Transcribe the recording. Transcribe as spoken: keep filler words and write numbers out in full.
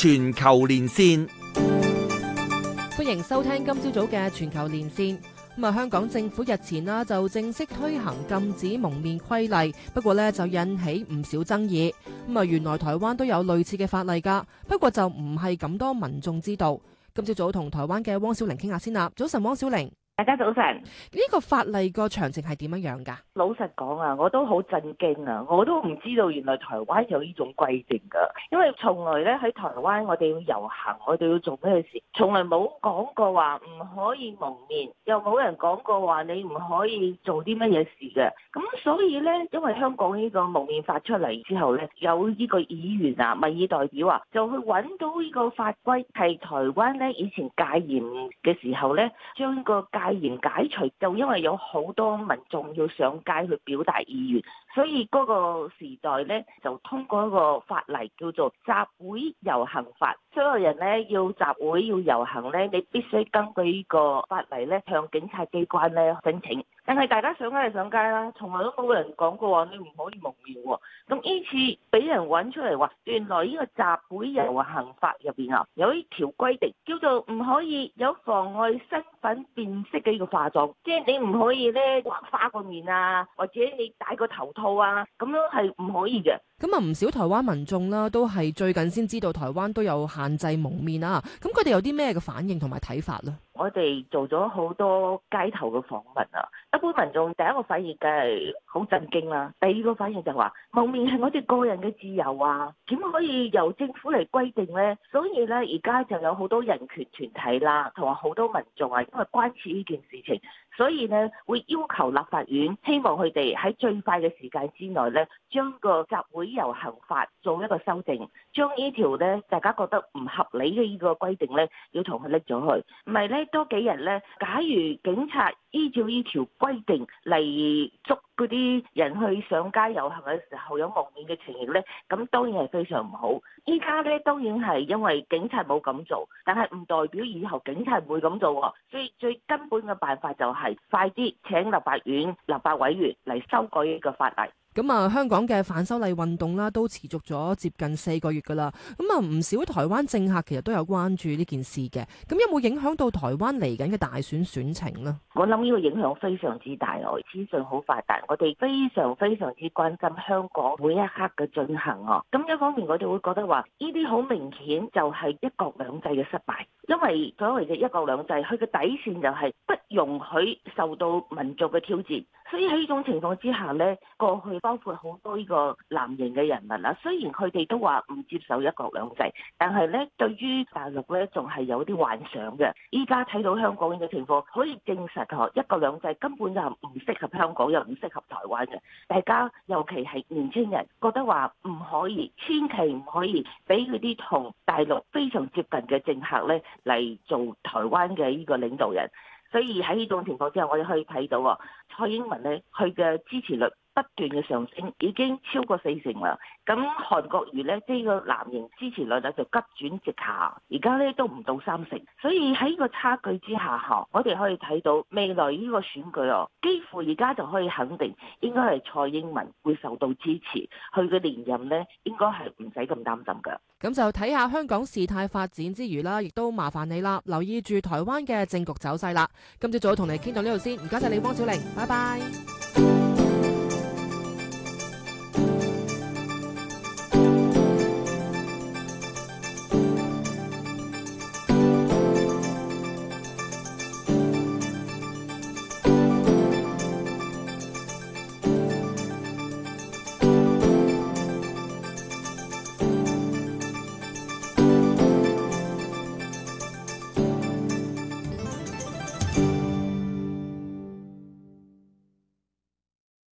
全球連線， 歡迎收聽今朝早嘅全球連線。咁啊，香港政府日前啦就正式推行禁止蒙面規例，不過呢就引起唔少爭議。咁啊，原來台灣都有類似嘅法例㗎，不過就唔係咁多民眾知道。今朝早同台灣嘅汪小玲傾下先啦。早晨，汪小玲。 大家早晨。 呢個法例個詳情係點樣樣㗎？ 老實講啊，我都好震驚啊！我都唔知道原來台灣有呢種規定㗎。因為從來咧喺台灣，我哋要遊行，我哋要做咩事，從來冇講過話唔可以蒙面，又冇人講過話你唔可以做啲乜嘢事嘅。咁所以咧，因為香港呢個蒙面法出嚟之後咧，有呢個議員啊、民意代表啊，就去揾到呢個法規係台灣咧以前戒嚴嘅時候咧，將呢個戒嚴解除，就因為有好多民眾要上街去表達意願，所以嗰個時代咧就通過一個法例叫做集會遊行法。所有人咧要集會要遊行咧，你必須根據呢個法例咧向警察機關咧申請。但係大家上街就上街啦，從來都冇人講過話你唔可以蒙面喎。咁呢次俾人揾出嚟話，原來呢個集會遊行法入邊啊有一條規定，叫做唔可以有妨礙身份辨識嘅呢個化妝，即係你唔可以咧畫花個面啊，或者你戴個頭套啊，咁樣係唔可以嘅。 咁啊，唔少台灣民眾啦，都係最近先知道台灣都有限制蒙面啊。咁佢哋有啲咩嘅反應同埋睇法呢？ 我哋做咗好多街頭嘅訪問啊，一般民眾第一個反應梗係好震驚啦，第二個反應就話蒙面係我哋個人嘅自由啊，點可以由政府嚟規定呢？所以咧，而家就有好多人權團體啦，同埋好多民眾啊，因為關切呢件事情，所以呢會要求立法院，希望佢哋喺最快嘅時間之內呢，將個集會遊行法做一個修正，將呢條呢大家覺得唔合理嘅呢個規定呢，要同佢拎咗去，唔係呢多幾日呢，假如警察依照呢條規定嚟捉嗰啲人去上街遊行嘅時候有蒙面嘅情形呢，咁當然係非常唔好。依家呢，當然係因為警察冇咁做，但係唔代表以後警察唔會咁做喎。所以最根本嘅辦法就係快啲請立法院立法委員嚟修改呢個法例。 咁啊，香港嘅反修例運動啦，都持續咗接近四個月噶啦。咁啊，唔少台灣政客其實都有關注呢件事嘅。咁有冇影響到台灣嚟緊嘅大選選情呢？ 我諗呢個影響非常之大哦，資訊好發達，我哋非常非常之關心香港每一刻嘅進行哦。咁一方面我哋會覺得話，呢啲好明顯就係一國兩制嘅失敗，因為所謂嘅一國兩制，佢嘅底線就係不容許受到民族嘅挑戰。所以喺呢種情況之下呢，過去包括好多呢個藍營嘅人民啦，雖然佢哋都話唔接受一國兩制，但係呢對於大陸呢仲係有啲幻想嘅。依家睇到香港嘅情況，可以證實嗬，一國兩制根本就唔適合香港，又唔適合台灣嘅。大家尤其係年輕人覺得話唔可以，千祈唔可以俾嗰啲同大陸非常接近嘅政客呢嚟做台灣嘅呢個領導人。所以喺呢種情況之下，我哋可以睇到啊，蔡英文咧，佢嘅支持率不斷嘅上升，已經超過四成啦。咁韓國瑜咧，即係個藍營支持率咧就急轉直下，而家咧都唔到三成。所以喺呢個差距之下，嚇我哋可以睇到未來呢個選舉哦，幾乎而家就可以肯定，應該係蔡英文會受到支持，佢嘅連任咧應該係唔使咁擔心㗎。 咁就睇下香港事態發展之餘啦，亦都麻煩你啦，留意住台灣嘅政局走勢啦。今朝早同你傾到呢度先，唔該晒你，汪小玲，拜拜。